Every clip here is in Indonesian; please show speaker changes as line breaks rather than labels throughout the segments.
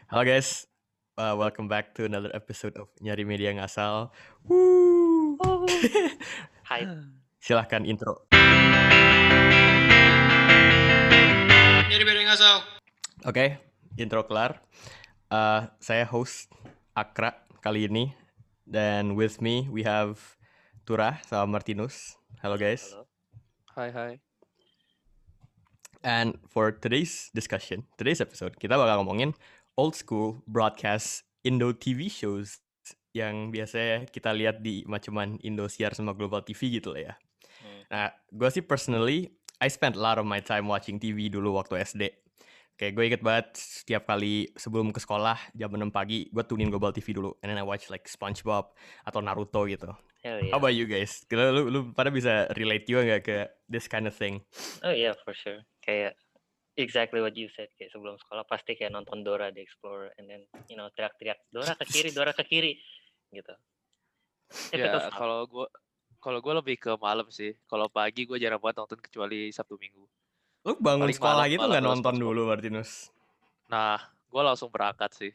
Halo guys, welcome back to another episode of Nyari Media Ngasal. Woo!
Hype.
Silahkan intro.
Jadi beda ngasal.
Oke, intro kelar. Saya host Akra kali ini, dan with me we have Tura sama Martinus. Halo guys.
Halo.
Hai.
And for today's episode, kita bakal ngomongin old school broadcast Indo TV shows yang biasanya kita lihat di macuman Indosiar sama Global TV gitu lah ya. Nah, gue sih personally, I spent a lot of my time watching TV dulu waktu SD. Kayak gue inget banget setiap kali sebelum ke sekolah jam 6 pagi, gue tunin Global TV dulu. And then I watch like SpongeBob atau Naruto gitu.
Hell yeah.
How about you guys? Lu pada bisa relate juga gak ke this kind of thing?
Oh yeah, for sure. Kayak exactly what you said. Kayak sebelum sekolah pasti kayak nonton Dora the Explorer and then teriak-teriak Dora ke kiri gitu. Typical
Ya,
stuff.
kalau gue lebih ke malam sih. Kalau pagi gue jarang banget nonton kecuali Sabtu Minggu.
Lu bangun
Paling
sekolah
malam-
gitu
malam
nggak
terus
nonton
SpongeBob.
dulu, Martinus?
Nah, gue langsung berangkat sih.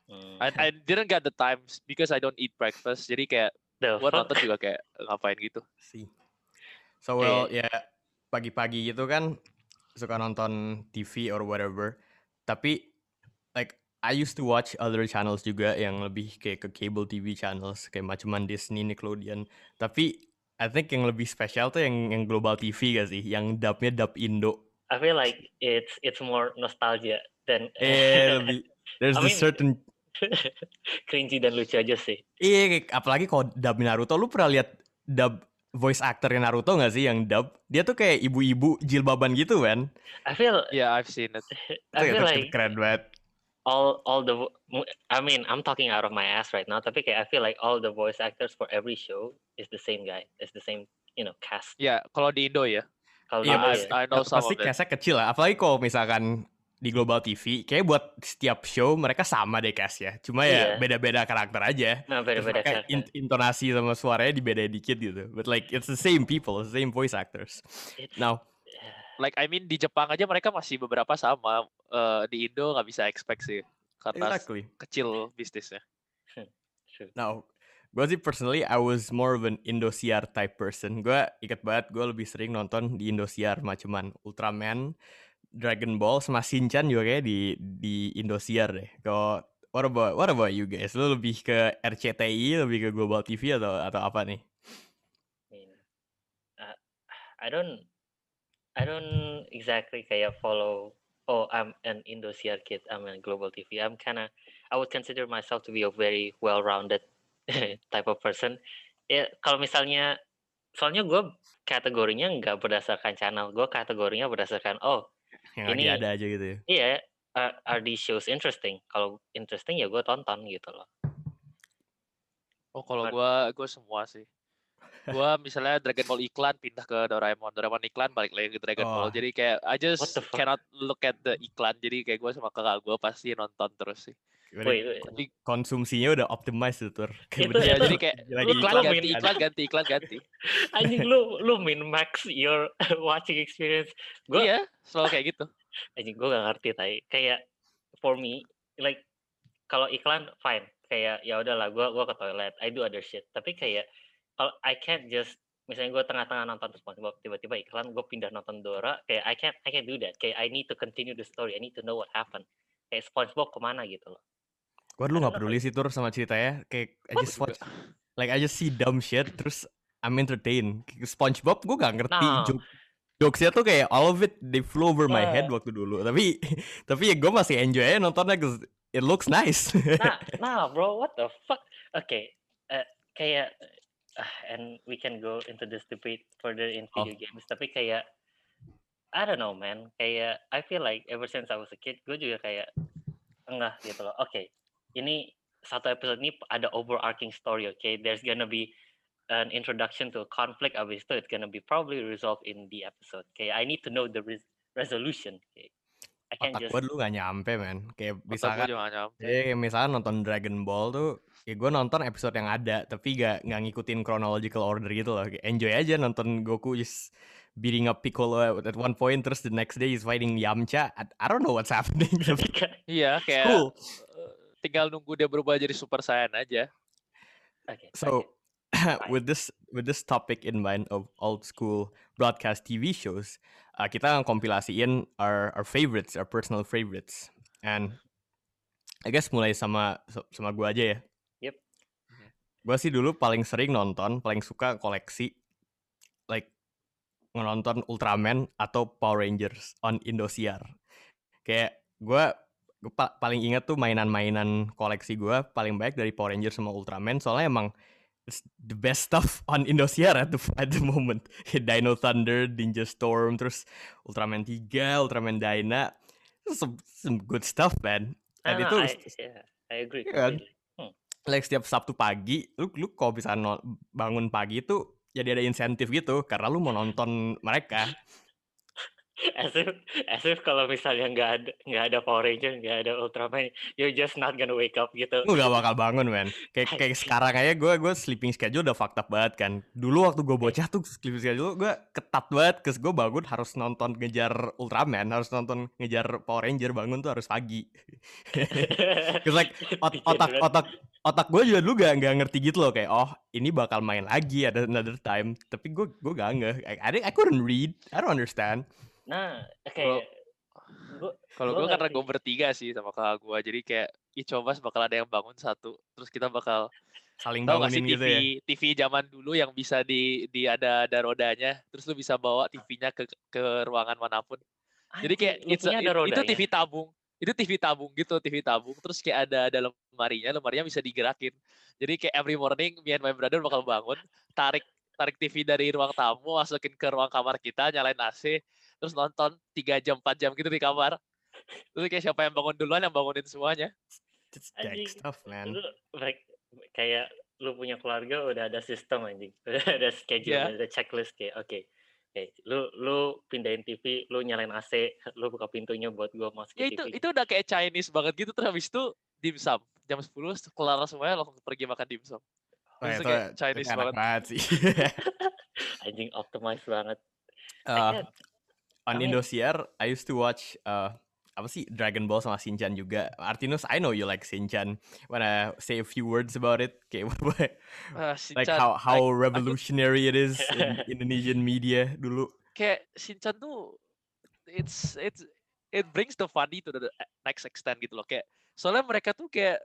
I didn't get the time because I don't eat breakfast. Jadi kayak
The
gue
fuck?
nonton juga kayak ngapain gitu.
See. So well, ya pagi-pagi gitu kan suka nonton TV or whatever. Tapi like I used to watch other channels juga yang lebih kayak ke cable TV channels kayak macuman Disney, Nickelodeon. Tapi I think yang lebih spesial tuh yang Global TV gak sih? Yang dubnya dub Indo.
I feel like it's more nostalgia than
Lebih there's
I
this
mean-
certain
cringy dan lucu aja sih.
apalagi kalau dub Naruto. Lu pernah lihat dub voice actor Naruto gak sih yang dub? Dia tuh kayak ibu-ibu jilbaban gitu kan.
I feel
Yeah, I've seen it.
Itu
like
keren banget.
all the I mean I'm talking out of my ass right now, tapi kayak I feel like all the voice actors for every show is the same guy, is the same cast.
Ya, kalau di Indo ya.
Kalau
Iya,
dulu
pasti,
ya.
I know some
pasti
of it.
cast-nya kecil lah. Apalagi kalau misalkan di Global TV, kayak buat setiap show mereka sama deh cast ya. Cuma ya
Iya.
beda-beda karakter aja.
Nah,
Terus
beda-beda
mereka
karakter.
intonasi sama suaranya dibedain dikit gitu. But like it's the same people, the same voice actors.
It's-
Now,
Like I mean di Jepang aja mereka masih beberapa sama. Di Indo nggak bisa expect sih karena
exactly.
kecil bisnisnya.
True.
Now, gue sih personally I was more of an Indosiar type person. Gue inget banget gue lebih sering nonton di Indosiar macuman Ultraman, Dragon Ball sama Shinchan juga kayak di Indosiar deh. Kalau what about you guys? Lu lebih ke RCTI, lebih ke Global TV atau apa nih?
I mean, I don't exactly kayak follow. Oh, I'm an Indosiar kid. I'm a Global TV. I would consider myself to be a very well-rounded type of person. Ya, kalau misalnya, soalnya gue kategorinya nggak berdasarkan channel. Gue kategorinya berdasarkan
Yang
Ini-
lagi ada aja gitu ya.
iya, are these shows interesting? Kalau interesting ya gue tonton gitu loh.
Oh, kalau
But-
gue semua sih. Gue misalnya Dragon Ball iklan pindah ke Doraemon iklan balik lagi ke Dragon Ball. Jadi kayak I
What
just
the fuck?
cannot look at the iklan. Jadi kayak gue sama kakak gue pasti nonton terus sih.
Wait.
Jadi
Konsumsinya udah optimized tuh, Tur.
Itu-
ya
itu-
jadi kayak
lagi
iklan
lu
ganti
min-
iklan ganti.
Anjing lu min max your watching experience. Gue
Iya, selalu kayak gitu.
anjing gue gak ngerti tai. Kayak for me like kalau iklan fine. Kayak ya udahlah gue ke toilet, I do other shit. Tapi kayak kalau I can't just misalnya gue tengah-tengah nonton SpongeBob tiba-tiba iklan gue pindah nonton Dora, kayak I can't do that. Kayak I need to continue the story. I need to know what happened. Kayak SpongeBob kemana gitu loh.
Gue dulu gak peduli sih, Tur, sama ceritanya. Kayak I just watch, like I just see dumb shit, terus I'm entertained. Kayak SpongeBob gue gak ngerti
Nah.
jokesnya tuh kayak all of it they flew over my
Nah.
head waktu dulu. Tapi ya gue masih enjoy aja nontonnya cause it looks nice.
Nah bro, what the fuck? Okay, kayak and we can go into this debate further in video games. Tapi kayak I don't know man, kayak I feel like ever since I was a kid, gue juga kayak enggak gitu loh. Okay, ini satu episode ini ada overarching story. Okay, there's gonna be an introduction to a conflict. Abis itu it's gonna be probably resolved in the episode. Okay, I need to know the resolution. Okay, I can't
Otak
just
gue dulu gak nyampe, man. Kayak
Otak
misalkan
gue juga nggak nyampe.
kayak misalkan nonton Dragon Ball tuh, ya gue nonton episode yang ada, tapi gak ngikutin chronological order gitu loh. Kayak enjoy aja nonton Goku just beating up Piccolo at one point, terus the next day he's fighting Yamcha. I don't know what's happening. Tapi
Iya, kayak
cool.
tinggal nunggu dia berubah jadi Super Saiyan aja.
Okay.
So
Fine.
with this topic in mind of old school broadcast TV shows, kita kompilasiin our favorites, our personal favorites, and I guess mulai sama gue aja ya.
Yep.
Gue sih dulu paling sering nonton, paling suka koleksi like nonton Ultraman atau Power Rangers on Indosiar. Kayak gue paling ingat tuh mainan-mainan koleksi gue paling baik dari Power Rangers sama Ultraman, soalnya emang it's the best stuff on Indosiar at the moment. Dino Thunder, Ninja Storm, terus Ultraman 3, Ultraman Dyna, some good stuff, man. And itu
I agree.
Yeah, like setiap Sabtu pagi, lu kalau bisa bangun pagi tuh jadi ada insentif gitu karena lu mau nonton mereka.
As if kalau misalnya nggak ada Power Ranger, nggak ada Ultraman, you're just not gonna wake up gitu.
Lu gak bakal bangun, man. Kayak sekarang aja gue sleeping schedule udah fucked up banget kan. Dulu waktu gue bocah tuh sleeping schedule gue ketat banget, cause gue bangun harus nonton ngejar Ultraman, harus nonton ngejar Power Ranger, bangun tuh harus pagi. Cause like otak gue juga dulu gak ngerti gitu loh, kayak oh ini bakal main lagi ada another time, tapi gue gak nge. I couldn't read, I don't understand.
Nah, kayak
kalau gue karena gue bertiga sih sama kakak gue, jadi kayak coba bakal ada yang bangun satu, terus kita bakal
saling
tahu nggak
bangunin
sih
gitu ya.
TV zaman dulu yang bisa di ada rodanya, terus lu bisa bawa TV-nya ke ruangan manapun. Jadi kayak itu TV tabung. Itu TV tabung gitu, TV tabung. Terus kayak ada lemarinya bisa digerakin. Jadi kayak every morning me and my brother bakal bangun, tarik TV dari ruang tamu, masukin ke ruang kamar kita, nyalain AC, terus nonton 3 jam 4 jam gitu di kamar. Terus kayak siapa yang bangun duluan yang bangunin semuanya.
It's deck stuff, man.
Lu kayak lu punya keluarga udah ada sistem anjing. Udah ada schedule, udah ada checklist kayak oke. Lu pindahin TV, lu nyalain AC, lu buka pintunya buat gua masuk ke TV.
Itu udah kayak Chinese banget gitu. Terus habis itu dimsum. Jam 10 kelar semuanya langsung pergi makan dimsum. Itu kayak Chinese banget
sih.
Anjing optimize banget.
On Indosiar, I used to watch apa sih Dragon Ball sama Shinchan juga. Artinus, I know you like Shinchan. Wanna say a few words about it? Kayak like how revolutionary it is in Indonesian media dulu.
Kayak Shinchan tuh it brings the funny to the next extent gitu loh. Kayak soalnya mereka tuh kayak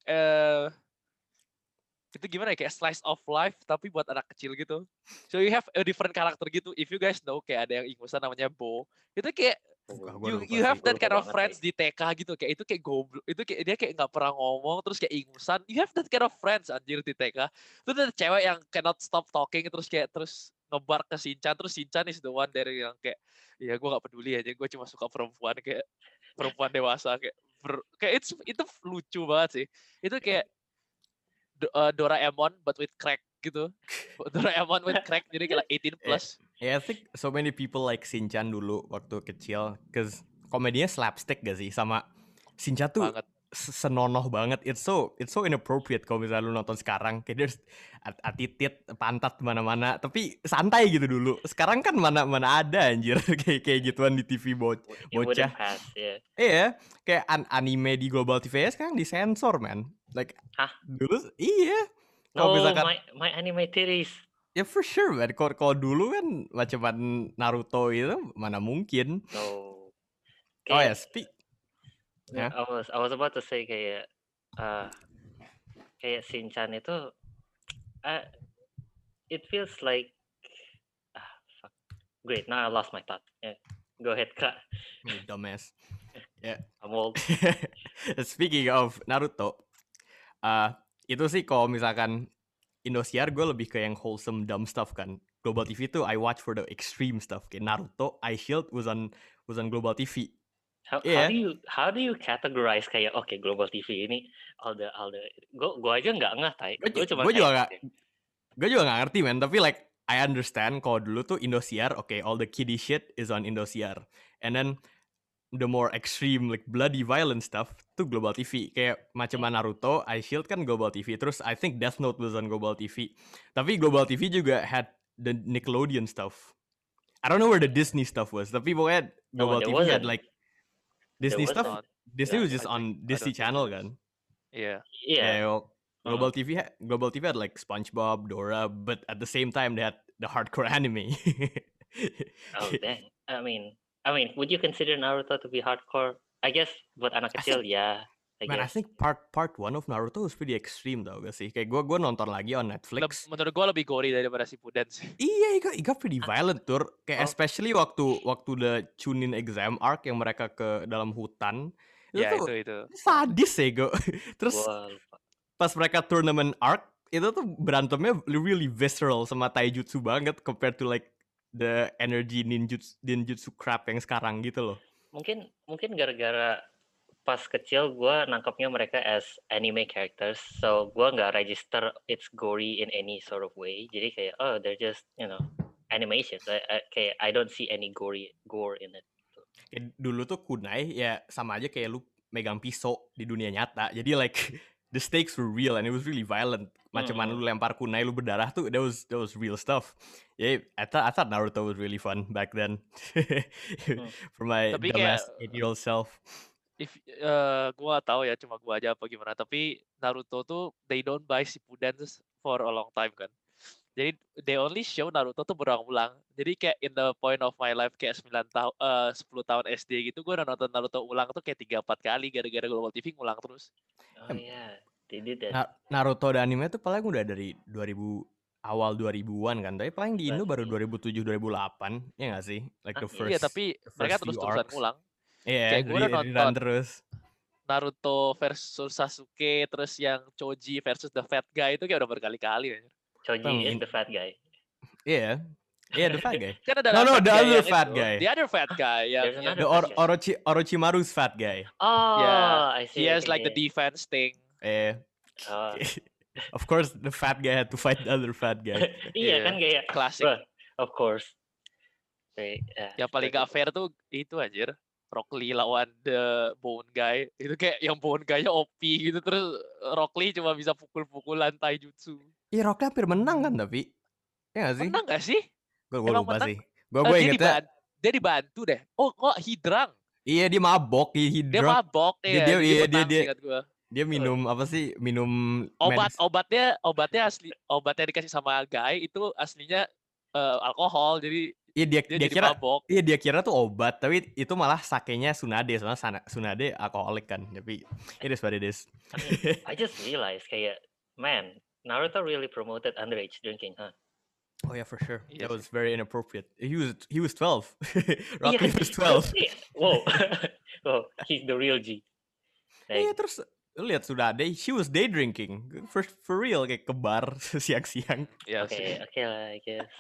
itu gimana ya, kayak slice of life tapi buat anak kecil gitu. So you have a different character gitu. If you guys know, kayak ada yang ingusan namanya Bo. Itu kayak you have that kind of friends di TK gitu. Kayak itu kayak goblok. Itu kayak dia kayak nggak pernah ngomong terus kayak ingusan. You have that kind of friends anjir di TK. Terus ada cewek yang cannot stop talking terus ngebar ke Shinchan. Terus Shinchan is the one dari yang kayak ya gue nggak peduli aja. Gue cuma suka perempuan, kayak perempuan dewasa kayak itu lucu banget sih. Itu kayak Doraemon but with crack gitu. Doraemon with crack, jadi kayak 18 plus.
Yeah, I think so many people like Shinchan dulu waktu kecil, cause komedinya slapstick gak sih, sama Shinchan tuh senonoh banget. It's so inappropriate kalau misalnya lu nonton sekarang, kayak there's atitit, pantat mana-mana, tapi santai gitu dulu. Sekarang kan mana ada anjir kayak gituan di TV bocah. Iya, kayak anime di Global TV sekarang disensor, man. Like dulu iya.
No, misalkan, my anime series.
Ya for sure, man. Kalau dulu kan macam Naruto itu mana mungkin.
No.
Oh ya, speak.
Yeah. I was about to say kayak Shinchan itu it feels like fuck. Great, now I lost my thought. Yeah. Go ahead, Kak.
Dumbass. Yeah.
I'm old.
Speaking of Naruto, itu sih kalau misalkan Indosiar gue lebih ke yang wholesome dumb stuff kan. Global TV tuh I watch for the extreme stuff. Kayak Naruto, Ice Shield was on Global TV.
How do you categorize kayak Global TV ini all the gue aja nggak ngerti.
Gue juga nggak ngerti, man. Tapi like I understand kalau dulu tuh Indosiar, all the kiddie shit is on Indosiar, and then the more extreme like bloody violent stuff tuh Global TV. Kayak macam Naruto, Ice Shield kan Global TV. Terus I think Death Note was on Global TV. Tapi Global TV juga had the Nickelodeon stuff. I don't know where the Disney stuff was. Tapi pokoknya Global TV had like Disney stuff. Disney was just on Disney Channel kan.
Iya.
Yeah.
Global TV had like SpongeBob, Dora, but at the same time they had the hardcore anime.
Oh dang. I mean, would you consider Naruto to be hardcore? I guess buat anak
I
kecil,
think,
yeah. I
man, I
guess.
think part 1 of Naruto was pretty extreme tau gak sih? Kayak gue nonton lagi on Netflix.
Menurut gue lebih gory daripada Shippuden sih.
Iya, it got pretty violent tur. Kayak
Oh.
especially waktu the Chunin exam arc yang mereka ke dalam hutan.
Ya
Itu tuh
itu.
sadis ya gue. Terus
Gua lupa.
pas mereka tournament arc itu tuh berantemnya really visceral sama taijutsu banget compared to like the energy ninjutsu crap yang sekarang gitu loh.
Mungkin gara-gara pas kecil gue nangkapnya mereka as anime characters, so gue nggak register it's gory in any sort of way. Jadi kayak they're just animations. Kayak I don't see any gore in it.
Kayak dulu tuh kunai ya sama aja kayak lu megang pisau di dunia nyata. Jadi like the stakes were real and it was really violent. Macam mana lu lempar kunai lu berdarah tuh that was real stuff. Yeah, I thought Naruto was really fun back then. For my
Tapi
dumbass 8-year-old self.
If gua tahu ya cuma gua aja apa gimana, tapi Naruto tuh they don't buy Shippuden for a long time kan. Jadi they only show Naruto tuh berulang-ulang. Jadi kayak in the point of my life kayak 10 tahun SD gitu gua udah nonton Naruto ulang tuh kayak 3-4 kali gara-gara Global TV ngulang terus.
Oh yeah, they did that.
Naruto dan anime tuh paling udah dari awal 2000-an kan. Tapi paling di Indo baru 2007 2008 ya nggak sih? Like the first.
Iya, tapi mereka terus-terusan ngulang.
Iya,
Kayak gue udah nonton
terus.
Naruto versus Sasuke, terus yang Choji versus the fat guy itu kayak udah berkali-kali.
Choji is the fat guy.
Iya, the fat guy.
Kan ada
No, the other
yang
fat
itu.
guy.
The other fat guy yang
There's another
The
fat guy.
Orochimaru's fat guy.
Oh,
Yeah,
I see.
he has
okay,
like the
okay.
defense thing.
Oh.
Of course, the fat guy had to fight the other fat guy.
Iya
Iya,
kan kayak
klasik.
Bruh, of course.
Yang paling gak fair tuh itu anjir. Rock Lee lawan the Bone Guy. Itu kayak yang Bone Guy-nya OP gitu. Terus Rock Lee cuma bisa pukul-pukulan taijutsu.
Iya, Rock Lee hampir menang kan tapi. Iya gak sih?
Menang gak sih?
Gue
Emang
lupa
menang?
sih. Gue ingetnya.
Dia dibantu deh. Oh, kok Hidrang?
Iya, dia mabok.
Dia mabok ya. Dia
minum apa sih? Minum
obatnya obatnya dikasih sama Guy itu aslinya alkohol. Jadi
dia kira
mabok.
Iya, dia kira tuh obat, tapi itu malah sakenya Tsunade, soalnya Tsunade alkoholik kan. Tapi it is what it is.
I just realized kayak man, Naruto really promoted underage drinking, huh?
Oh yeah, for sure.
Iya
That
sih.
was very inappropriate. He was 12. Rock Lee was 12.
Iya. Wow. Oh, he's the real G.
Iya, terus lu lihat Tsunade, she was day drinking. For real, kayak ke bar siang-siang.
Iya sih.
Okay lah, I guess.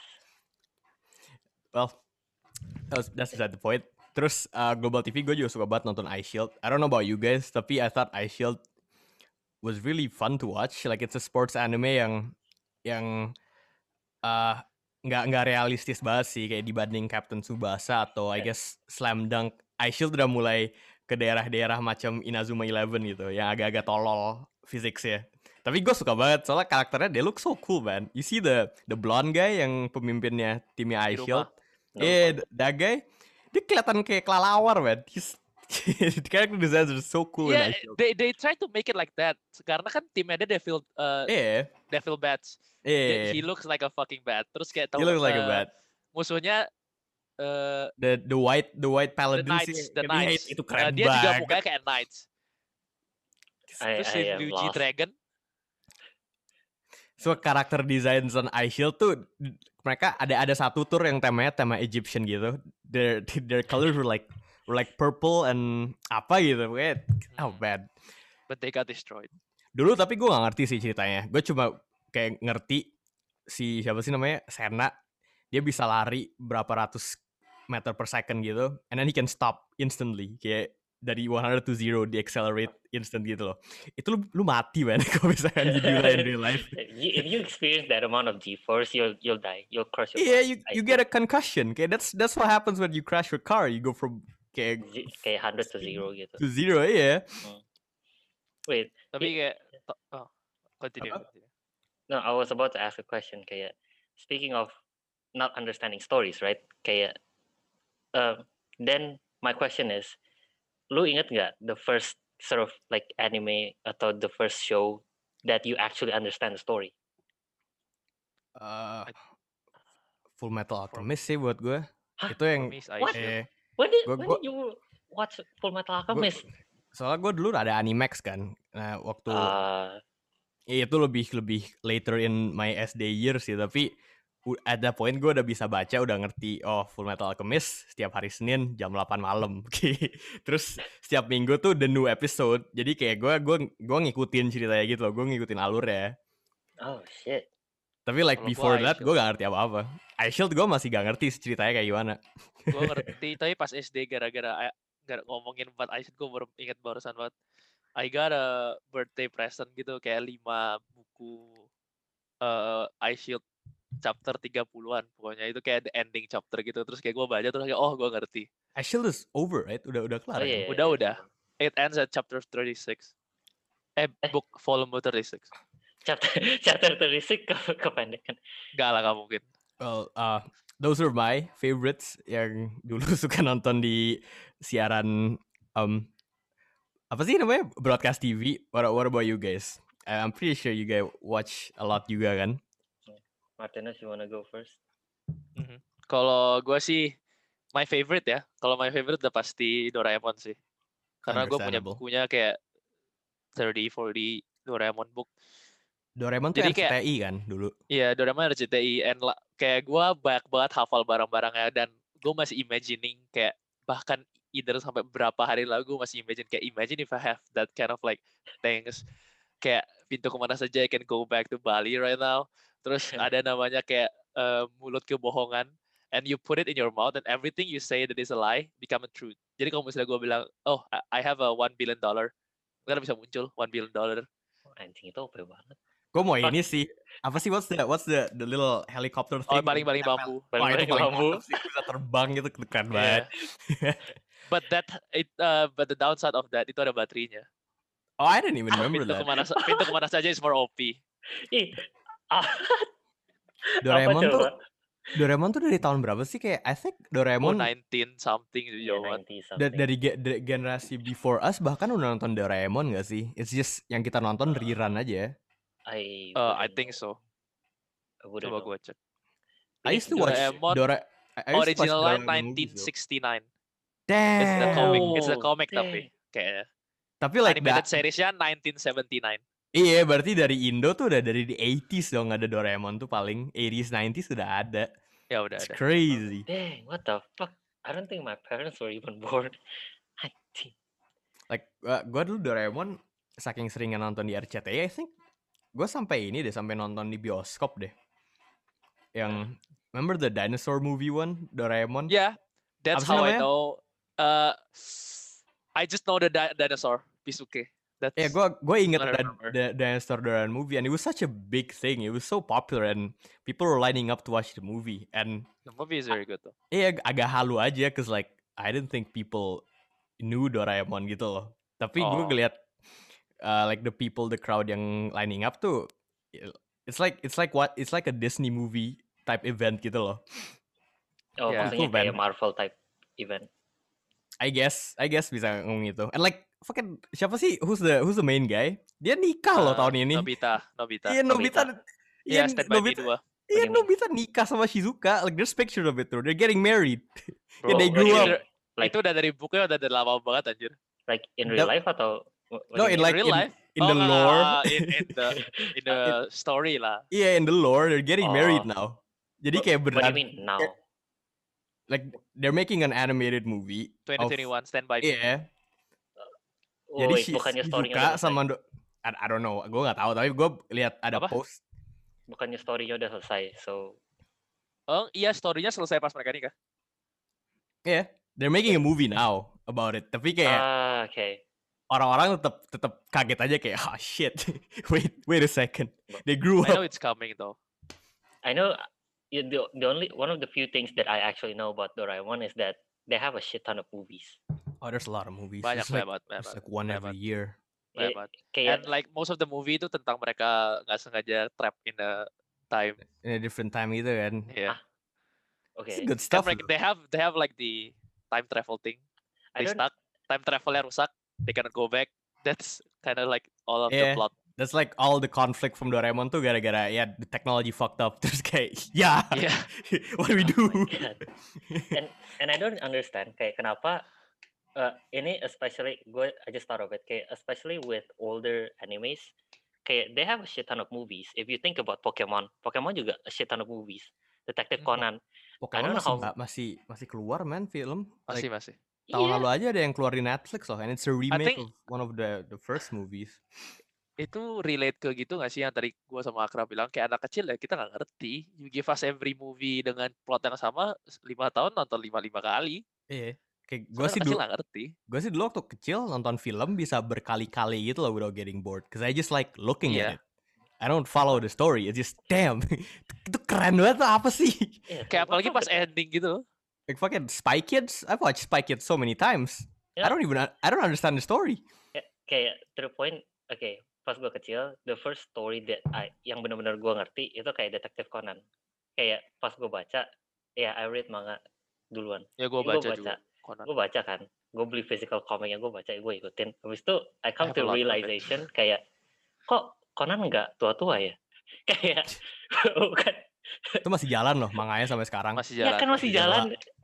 Well, that's beside the point. Terus Global TV gue juga suka banget nonton Ice Shield. I don't know about you guys, tapi I thought Ice Shield was really fun to watch. Like it's a sports anime yang nggak realistis banget sih kayak dibanding Captain Tsubasa atau I guess Slam Dunk. Ice Shield udah mulai ke daerah-daerah macam Inazuma 11 gitu, yang agak-agak tolol physics-nya. Tapi gue suka banget soalnya karakternya they look so cool, man. You see the blonde guy yang pemimpinnya timnya Ice Shield. Yeah, that guy. Dia kelihatan kayak kelelawar, man. The character designs are so cool.
Yeah, they try to make it like that. Karena kan timnya dia Devil Bats.
Yeah.
He looks like a fucking bat. Terus kayak
he looks like a bat.
Musuhnya
the white paladin
the Knights.
Itu keren
dia
banget.
Dia juga mukanya kayak Knights. Terus si Ryuji Dragon.
So karakter design on Ice Shield tuh mereka ada satu tour yang tema Egyptian gitu. Their colors were like purple and apa gitu. Oh bad.
But they got destroyed.
Dulu tapi gue gak ngerti sih ceritanya. Gue cuma kayak ngerti si siapa sih namanya Senna. Dia bisa lari berapa ratus meter per second gitu. And then he can stop instantly. Kayak dari 100 to 0 di accelerate instant gitu loh. Itu lu mati man kalau misalkan you do that in real life.
If you experience that amount of G-force, you'll die. You'll crush your
Yeah, you get a concussion. Kayak that's what happens when you crash your car. You go from kayak
100 to 0 gitu.
To 0, iya.
Wait.
Tapi kayak continue.
No, I was about to ask a question. Kayak speaking of not understanding stories, right? Kayak then my question is, lu inget nggak the first sort of like anime atau the first show that you actually understand the story?
Full Metal
For
Alchemist sih buat gue.
Hah?
Itu yang
me, it's
What?
Aisha.
When
Gua
did you watch Full Metal
gua
Alchemist?
soalnya gue dulu ada Animax kan. Nah, waktu itu lebih later in my SD years sih, tapi at that point gue udah bisa baca, udah ngerti Full Metal Alchemist setiap hari Senin jam 8 malam. Terus setiap minggu tuh the new episode. Jadi kayak gue ngikutin ceritanya gitu loh, gue ngikutin alurnya.
Oh shit.
Tapi like
Kalau
before
gua
that
iShield.
gue gak ngerti apa-apa. iShield gue masih gak ngerti ceritanya kayak gimana.
Gue ngerti, tapi pas SD gara-gara ngomongin buat iShield, gue baru inget barusan banget. I got a birthday present gitu, kayak 5 buku iShield chapter 30-an. Pokoknya itu kayak the ending chapter gitu. Terus kayak gue baca, terus kayak, oh gue ngerti.
iShield is over, right? Udah kelar
Oh
kan?
iya.
Udah. It ends at chapter 36. Book volume 36.
Chapter 36 kependekan.
Enggak lah, gak mungkin.
Well, those are my favorites yang dulu suka nonton di siaran apa sih namanya, broadcast TV. What about you guys? I'm pretty sure you guys watch a lot juga kan?
Martinez, you wanna go first?
Kalau gue sih my favorite ya. Kalau my favorite udah pasti Doraemon sih. Karena gue punya
Understandable.
bukunya kayak 30-40 Doraemon book.
Doraemon tuh
Jadi kayak-
RCTI kan dulu.
Iya, Doraemon RCTI, and kayak gue banyak banget hafal barang-barangnya, dan gue masih imagining kayak bahkan either sampai berapa hari lalu gue masih imagine if I have that kind of like things, kayak pintu kemana saja I can go back to Bali right now. Terus ada namanya kayak mulut kebohongan, and you put it in your mouth and everything you say that is a lie become a truth. Jadi kalau misalnya gue bilang, oh I have a $1 billion, kan bisa muncul $1 billion.
Anjing itu OP banget.
Gue mau ini sih. Apa sih what's the little helicopter thing?
Baling-baling bambu.
Wah, itu
Baling-baling
paling
bambu.
mantap sih, bisa terbang gitu, keren
Iya.
banget.
But the downside of that, itu ada baterainya.
Oh, I didn't even remember
Pintu
that.
kemana saja is more OP.
Ih.
Doraemon
Apa
tuh
coba?
Doraemon tuh dari tahun berapa sih? Kayak I think Doraemon
19 something gitu
Yeah,
jauh.
90 something.
dari generasi before us bahkan udah nonton Doraemon gak sih? It's just yang kita nonton rerun aja.
I
I
wouldn't
think
know.
so.
I wouldn't
Coba
know.
gue cek.
I used to watch
Doraemon
I used to watch
Original line
Doraemon movies, though.
1969.
Damn.
It's the comic. It's the
Oh,
comic
damn.
tapi kayaknya.
Tapi like
Animated
that,
seriesnya 1979.
iya berarti dari Indo tuh udah dari the 80s dong ada Doraemon tuh, paling 80s 90s udah ada.
Ya udah
It's
ada.
crazy.
Dang, what the fuck? I don't think my parents were even born. Anjing.
Like gue dulu Doraemon saking seringnya nonton di RCTI, I think gue sampai nonton di bioskop deh. Yang remember the dinosaur movie one, Doraemon?
Yeah, that's
Apa sih
how I
namanya?
know. I just know the dinosaur Pisuke. That's
Yeah, gue inget
what I
that
remember.
the dinosaur Doraemon movie, and it was such a big thing. It was so popular, and people were lining up to watch the movie. And
The movie is very good though.
iya agak halu aja, cause like I didn't think people knew Doraemon gitu loh. Tapi gue
Oh.
ngeliat like the crowd yang lining up tuh, it's like a Disney movie type event gitu loh.
Oh,
Yeah.
maksudnya
Cool,
kayak
man.
Marvel type event.
I guess bisa ngomong gitu. And like fucking siapa sih who's the main guy? Dia nikah loh tahun ini.
Nobita.
Iya, Nobita.
Iya, Stand By Me 2.
Iya,
Bagaimana?
Nobita nikah sama Shizuka. Like there's picture of it tuh. They're getting married.
Bro,
they grew
Like,
up.
Like,
itu udah dari bukunya udah dari lama banget anjir.
like in real
The-
life atau? what
No,
do you
in
mean?
like
real life?
in the
enggak,
lore.
in the story lah.
Iya, in the lore they're getting married
Oh.
now. Jadi
What-
kayak
What do
beneran
you mean now?
like they're making an animated movie.
2021 Stand By Me.
Iya.
Oh,
Jadi
wait, bukannya story-nya
Shizuka
udah selesai.
sama I don't know. Gue nggak tahu, tapi gue lihat ada
Apa?
post.
Bukannya story-nya udah selesai. So,
Oh iya, story-nya selesai pas mereka nikah.
Iya, they're making a movie now about it. Tapi kayak
okay.
orang-orang tetap kaget aja kayak, oh shit, wait a second, they grew
I know
up.
it's coming though.
I know the only one of the few things that I actually know about Doraemon is that they have a shit ton of movies.
Oh, there's a lot of movies.
Banyak
It's like,
banget.
it's like one every
banyak.
year.
Banyak banget.
Kayak
And like most of the movie itu tentang mereka nggak sengaja trap in a time.
In a different time gitu kan.
Yeah.
It's
okay.
good
Kan
stuff.
mereka, they have like the time travel thing.
I
They
don't
stuck. Time travelnya rusak. They cannot go back. That's kind of like all of the
Yeah,
plot.
that's like all the conflict from Doraemon tuh gara-gara ya the technology fucked up. Terus kayak ya,
Yeah.
what do we
Oh
do?
my God. And I don't understand kayak kenapa ini especially I just thought of it kayak especially with older animes kayak they have a shit ton of movies. If you think about Pokemon juga a shit ton of movies. Detective Conan. I
Pokemon
don't know how.
masih keluar man film. Like
Masih.
tahun
Iya.
lalu aja ada yang keluar di Netflix loh, and it's a remake
think-
of one of the first movies.
Itu relate ke gitu nggak sih yang tadi gua sama Akra bilang kayak anak kecil ya kita nggak ngerti. You give us every movie dengan plot yang sama 5 tahun nonton 5 kali.
Iya. Kayak
Gue kecil nggak ngerti.
Gue sih dulu waktu kecil nonton film bisa berkali-kali gitu loh without getting bored. Cause I just like looking at it. I don't follow the story. It's just damn. Itu keren banget tuh apa sih?
Yeah,
Kayak apalagi
what's up
pas
with that?
ending gitu.
Like fucking Spy Kids. I've watched Spy Kids so many times.
Yeah.
I don't understand the story.
Kayak to the point. Okay, pas gue kecil, the first story that yang benar-benar gue ngerti itu kayak Detective Conan. Kayak pas gue baca, ya I read manga duluan.
Ya gue baca juga. Conan.
Gue baca kan, gue beli physical comicnya, gue baca, gue ikutin. Habis itu I come
I have
to
a lot of it.
realization kayak kok Conan nggak tua-tua ya? Kayak bukan.
Itu masih jalan loh manganya sampai sekarang.
Masih
Ya
jalan.
kan masih jalan.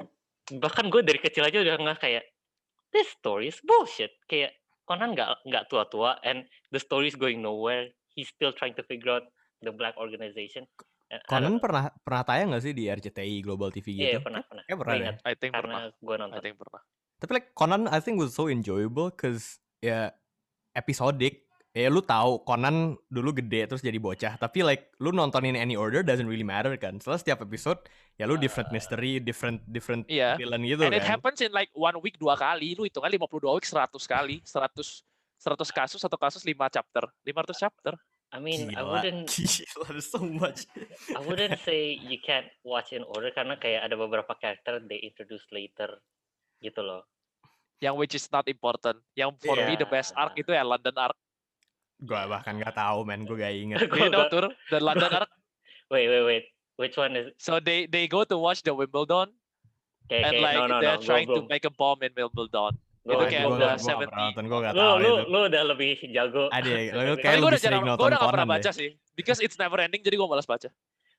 Bahkan gue dari kecil aja udah nggak kayak this story is bullshit. Kayak Conan nggak tua-tua and the story is going nowhere. He's still trying to figure out the black organization. And I
Conan
don't know.
pernah tayang gak sih di RCTI Global TV
Iya,
gitu?
pernah.
Pernah
Gue
deh.
ingat
I think
karena
pernah.
gue nonton.
I think pernah.
Tapi like Conan I think was so enjoyable cause ya episodic. Ya lu tahu Conan dulu gede terus jadi bocah, tapi like lu nontonin any order doesn't really matter kan. Setelah setiap episode ya lu different mystery, different
Iya.
villain gitu
And
kan.
it happens in like 1 week 2 kali. Lu hitungan 52 week 100 kali. 100 kasus, 1 kasus 5 chapter. 500 chapter.
I mean,
Gila, there's so much.
I wouldn't say you can't watch in order karena kayak ada beberapa karakter they introduce later gitu loh.
Yang which is not important. Yang for me the best arc itu ya London arc.
Gue bahkan gak tahu men, gue gak inget.
You know Tur, the London arc.
Wait. Which one is?
So they go to watch the Wimbledon and like they're trying to make a bomb in Wimbledon. Itu kayak udah 70.
Gue gak tahu itu.
Lu udah lebih jago.
Lu
Tapi
kayak
gue
lebih sering nonton
udah gak pernah
Conan
baca
deh.
sih. Because it's never ending jadi gue malas baca.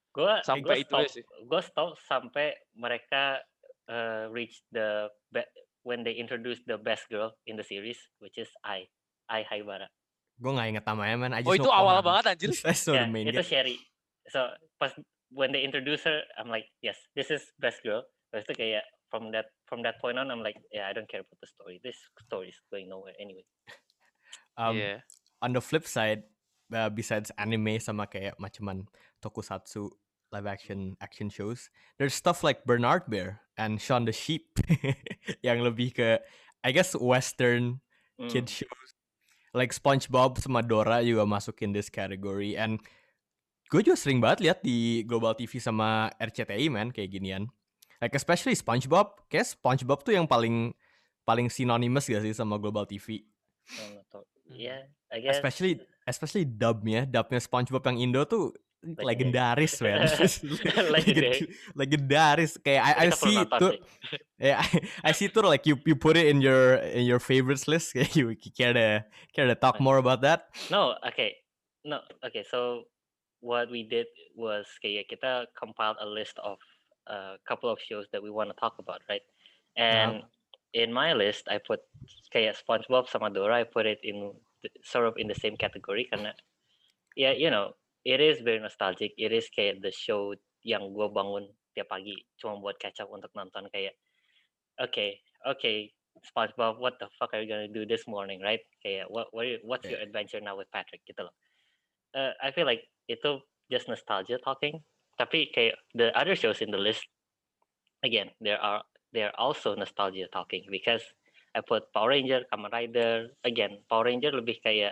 Sampai itu sih.
Gue stop sampai mereka reach when they introduce the best girl in the series, which is Ai Haibara.
Gue gak inget namanya man.
Oh itu awal banget anjir.
Yeah, itu Sherry. So pas when they introduce her, I'm like, yes, this is best girl. Terus itu kayak from that point on, I'm like, yeah, I don't care about the story. This story is going nowhere anyway.
Yeah.
On the flip side, besides anime sama kayak macaman tokusatsu live action shows, there's stuff like Bernard Bear and Shaun the Sheep yang lebih ke I guess western kid shows. Like SpongeBob sama Dora juga masuk in this category, and gue juga sering banget lihat di Global TV sama RCTI man kayak ginian. Like especially SpongeBob, kayak SpongeBob tuh yang paling synonymous gak sih sama Global TV?
Yeah, I guess.
Especially dubnya SpongeBob yang Indo tuh legendaris man. Legendaris kayak I see itu. Yeah, I see it like you put it in your favorites list. You care to talk more about that?
No, okay. So what we did was kayak kita compiled a list of a couple of shows that we want to talk about, right? And in my list, I put kayak SpongeBob sama Dora. I put it in sort of in the same category karena yeah, you know, it is very nostalgic. It is kayak the show yang gue bangun tiap pagi cuma buat catch up untuk nonton kayak. Okay, SpongeBob, what the fuck are you gonna do this morning, right? Kayak what's your adventure now with Patrick gitu loh. I feel like itu just nostalgia talking. Tapi kayak the other shows in the list, again, they're also nostalgia talking because I put Power Ranger, Kamen Rider. Again, Power Ranger lebih kayak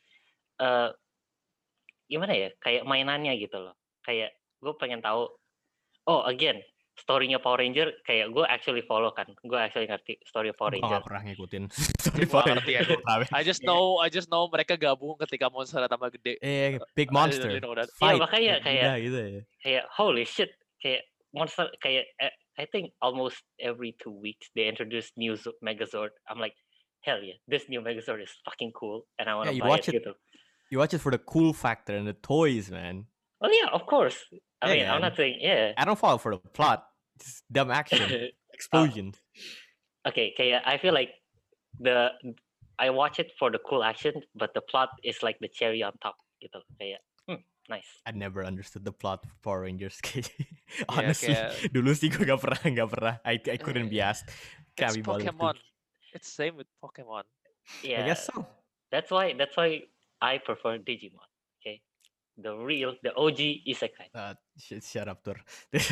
gimana ya? Kayak mainannya gitu loh. Kayak gue pengen tahu. Oh, again. Story-nya Power Ranger kayak gue actually follow kan. Gue actually ngerti story Power Ranger.
Gue gak pernah ngikutin story Power Ranger.
I just know mereka gabung ketika monster tambah gede.
Big monster.
Iya makanya kayak
gitu ya.
Kayak holy shit. Kayak monster kayak I think almost every 2 weeks they introduce new Megazord. I'm like, hell yeah, this new Megazord is fucking cool, and I want
Yeah,
to
you
buy
watch
it
it.
gitu.
You watch it for the cool factor and the toys, man.
Well, yeah, of course. I
Yeah,
mean, I'm
man.
not saying yeah.
I don't fall for the plot. Just dumb action, explosions.
Okay, I feel like I watch it for the cool action, but the plot is like the cherry on top gitu. Kayak nice.
I never understood the plot of Power Rangers.
Yeah,
Honestly,
kayak
dulu sih gue gak pernah. I couldn't be asked. Can't
it's
be bothered to.
Pokemon. It's same with Pokemon.
Yeah,
I guess so.
that's why I prefer Digimon. Okay, the OG isekai.
Shut up, Tur.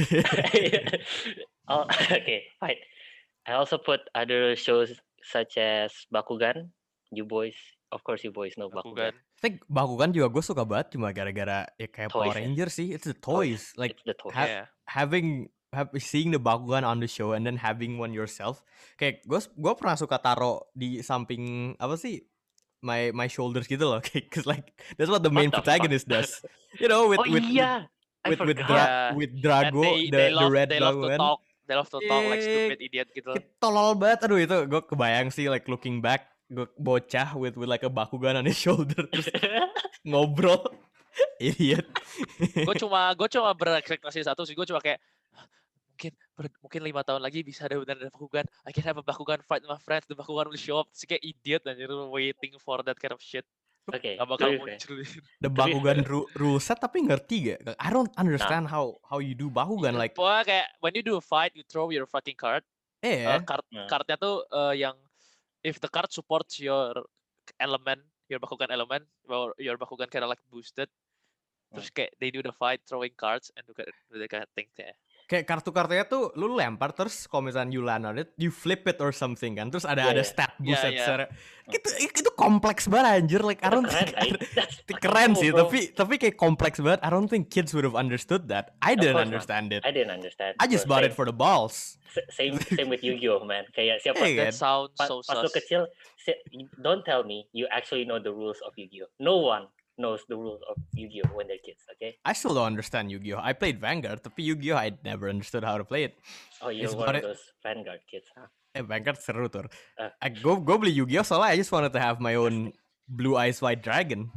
Oh, okay, fine. I also put other shows such as Bakugan. You boys, of course, you boys know Bakugan.
I think Bakugan juga gue suka banget, cuma gara-gara ya kayak
Toys,
Power Rangers sih. It's the toys. Like
It's the toys.
Yeah.
seeing the Bakugan on the show and then having one yourself. Kayak gue pernah suka taro di samping apa sih? My shoulders gitu loh. Cause like that's what the main
What the
protagonist does. You know, with
yeah, I
with
forgot.
with
And
Drago,
they
the red
love to
Bakugan.
talk. They love to talk like
Yeah.
stupid idiot gitu.
Tolol banget, aduh itu gue kebayang sih like looking back, gue bocah with like a Bakugan on his shoulder terus ngobrol, idiot.
Gue cuma berekspektasi satu sih. Gue cuma kayak mungkin 5 tahun lagi bisa ada benar Bakugan. I can have a Bakugan fight with my friends. The Bakugan will show up. Terus kayak idiot anjir waiting for that kind of shit.
Okay,
Gak bakal
to be fair.
muncul.
The Bakugan rule set tapi ngerti gak? I don't understand how you do Bakugan like.
Pokoknya kayak when you do a fight, you throw your fucking card. Cardnya tuh yang if the card supports your element, your Bakugan element, or your Bakugan kind of like boosted. Terus kayak they do the fight throwing cards and do that kind of thing ya.
Kayak kartu-kartunya tuh lu lempar terus kalau misalnya you land on it, you flip it or something kan. Terus ada stat boost secara itu kompleks banget anjir, like I don't think keren sih, tapi kayak kompleks banget. I don't think kids would have understood that. I didn't understand it.
I didn't understand.
I just bought it for the balls.
Same with Yu-Gi-Oh, man. Kayak siapa
That
sounds so
pas lu
sus.
kecil, don't tell me you actually know the rules of Yu-Gi-Oh. No one knows the rules of Yu-Gi-Oh when they're kids, okay?
I still don't understand Yu-Gi-Oh. I played Vanguard, tapi Yu-Gi-Oh I never understood how to play it.
Oh, you're one of those Vanguard kids, huh?
Vanguard seru tuh. Gue beli Yu-Gi-Oh soalnya I just wanted to have my own Blue Eyes White Dragon.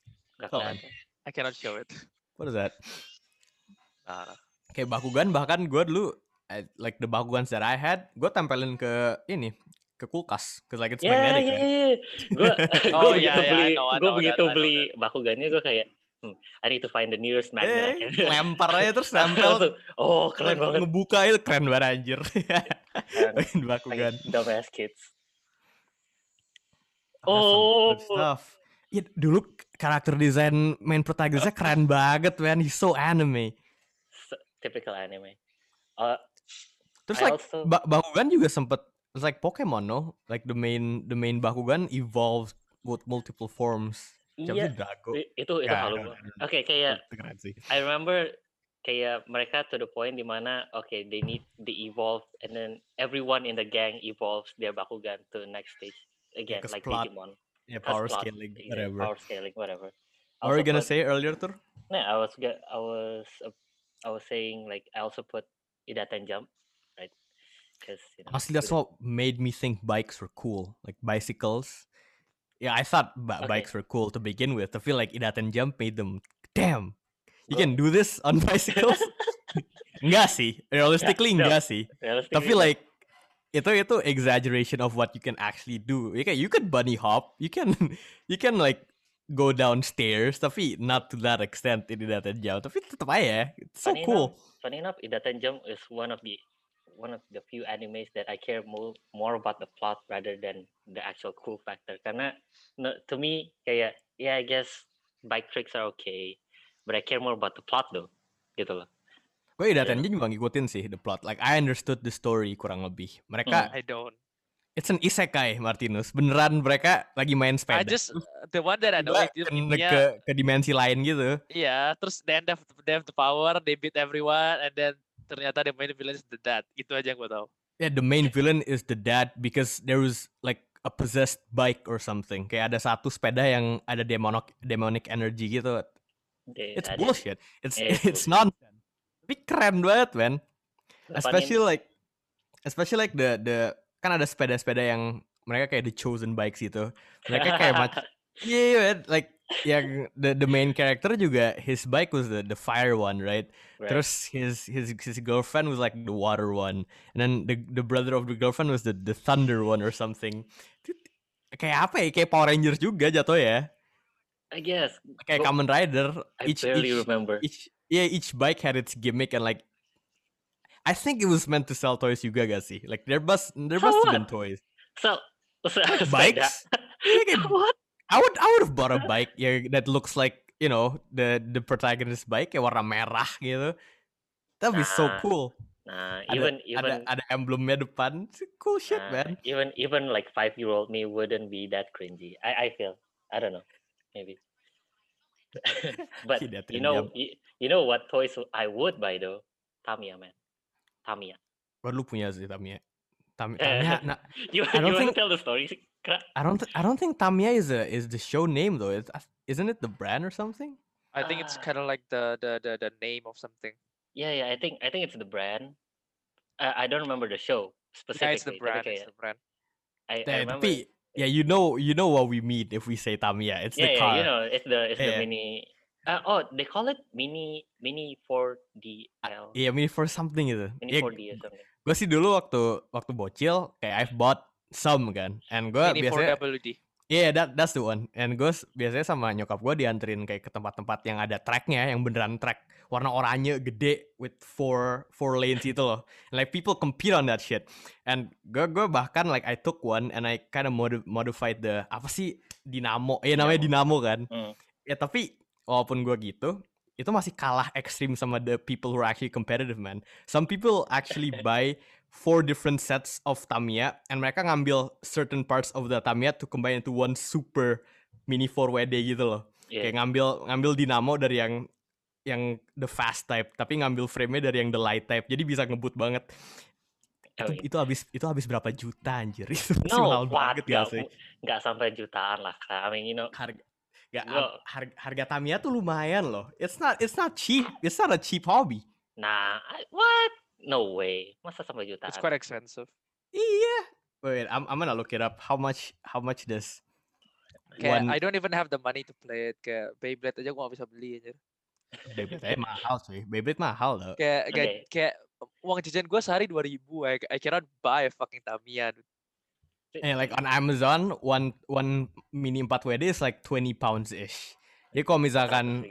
I cannot show it.
What is that?
Nah.
Kayak Bakugan bahkan gue dulu like the Bakugans that I had, gue tempelin ke kulkas, cause like it's magnetic.
Gue begitu beli Bakugannya gue kayak I need to find the nearest magnet.
Lempar aja terus nempel.
Oh, keren banget.
Ngebuka itu keren banget anjir. Bakugan.
Dumbass kids.
Good stuff. Ya, dulu karakter desain main protagonisnya keren banget, man. He's so anime.
Typical anime.
Terus like Bakugan juga sempet, it's like Pokemon, no? Like the main Bakugan evolved with multiple forms.
Iya, itu halu. Oke, kayak I remember kayak mereka to the point dimana they evolve and then everyone in the gang evolves their Bakugan to the next stage again, like Digimon.
Yeah, power scaling, whatever.
Power scaling, whatever.
What were you gonna say earlier, Tur?
Nah, I was saying like I also put Idaten Jump, right? Because
honestly, that's what made me think bikes were cool, like bicycles. Yeah, I thought bikes were cool to begin with. I feel like Idaten Jump made them, damn, you can do this on bicycles? Enggak sih, realistically enggak sih. Tapi like itu exaggeration of what you can actually do. You can bunny hop, you can like go downstairs, tapi not to that extent in Idaten Jump. Tapi tetap aja, it's so cool.
Funny enough, Idaten Jump is one of the few animes that I care more about the plot rather than the actual cool factor. Karena to me kayak I guess bike tricks are okay, but I care more about the plot though, gitu loh.
Gue Idaten Jump juga ngikutin sih the plot. Like I understood the story kurang lebih. Mereka
I don't.
It's an isekai, Martinus. Beneran mereka lagi main sepeda.
I just the one that I know
ke dimensi lain gitu.
Iya, terus they have the power, they beat everyone, and then ternyata the main villain is the dad. Itu aja yang gue tahu.
Yeah, the main villain is the dad because there was like a possessed bike or something. Kayak ada satu sepeda yang ada demonic energy gitu. It's bullshit. It's nonsense. Tapi keren banget, man. Especially like the kan ada sepeda-sepeda yang mereka kayak the chosen bikes gitu. Mereka kayak yeah, like yang the main character juga his bike was the fire one, right?
Right.
Terus his girlfriend was like the water one, and then the brother of the girlfriend was the thunder one or something. Kayak apa ya? Kayak Power Rangers juga jatuh ya.
I guess.
Kayak Kamen Rider.
I barely remember.
Each bike had its gimmick and like I think it was meant to sell toys juga gak sih? Like there must have been toys.
So
Like bikes?
What?
I would have bought a bike that looks like, you know, the protagonist bike yang warna merah gitu. That'd be so cool.
Nah,
ada emblemnya depan. It's cool shit, man.
Even like 5-year-old me wouldn't be that cringy. I feel. I don't know. Maybe. But you know what toys I would buy though? Tamiya, man. Tamiya.
What lu punya sih Tamiya? Tamiya. Nah,
you want to tell the story?
I don't think Tamiya is the show name though. Isn't it the brand or something?
I think it's kind of like the name of something.
Yeah. I think it's the brand. I don't remember the show specifically.
Yeah, it's the brand. It's the brand.
I remember.
Yeah, you know what we mean if we say Tamiya. It's the car.
Yeah, you know, it's the mini. They call it mini 4DL.
Iya, mini 4 something gitu.
Mini 4D or something.
Gue sih dulu waktu bocil kayak I've bought some kan, and gue biasanya.
4WD.
Yeah, that's the one. And gue biasanya sama nyokap gue dianterin kayak ke tempat-tempat yang ada tracknya, yang beneran track warna oranye gede with four lanes itu loh. And like people compete on that shit. And gue bahkan like I took one and I kind of modified the apa sih Dynamo. Namanya Dynamo kan. Ya tapi walaupun gue gitu, itu masih kalah ekstrim sama the people who are actually competitive, man. Some people actually buy 4 different sets of Tamiya and mereka ngambil certain parts of the Tamiya to combine into one super mini 4WD gitu loh. Yeah. Kayak ngambil Dynamo dari yang the fast type, tapi ngambil frame-nya dari yang the light type. Jadi bisa ngebut banget. Itu habis berapa juta anjir? Itu mahal banget ya sih.
Enggak sampai jutaan lah. I mean, you know,
harga Tamiya tuh lumayan loh. It's not cheap. It's not a cheap hobby.
Nah, what? No way. Masa sampai jutaan?
It's quite expensive.
Iya. Wait, I'm gonna look it up. How much does
I don't even have the money to play it. Kayak Beyblade aja gua gak bisa beli aja.
Beyblade mahal sih. Beyblade mahal loh.
Kayak uang jajan gua sehari 2.000. I cannot buy a fucking Tamiya.
Like on Amazon, one mini 4WD is like 20 pounds ish. Jadi kalau misalkan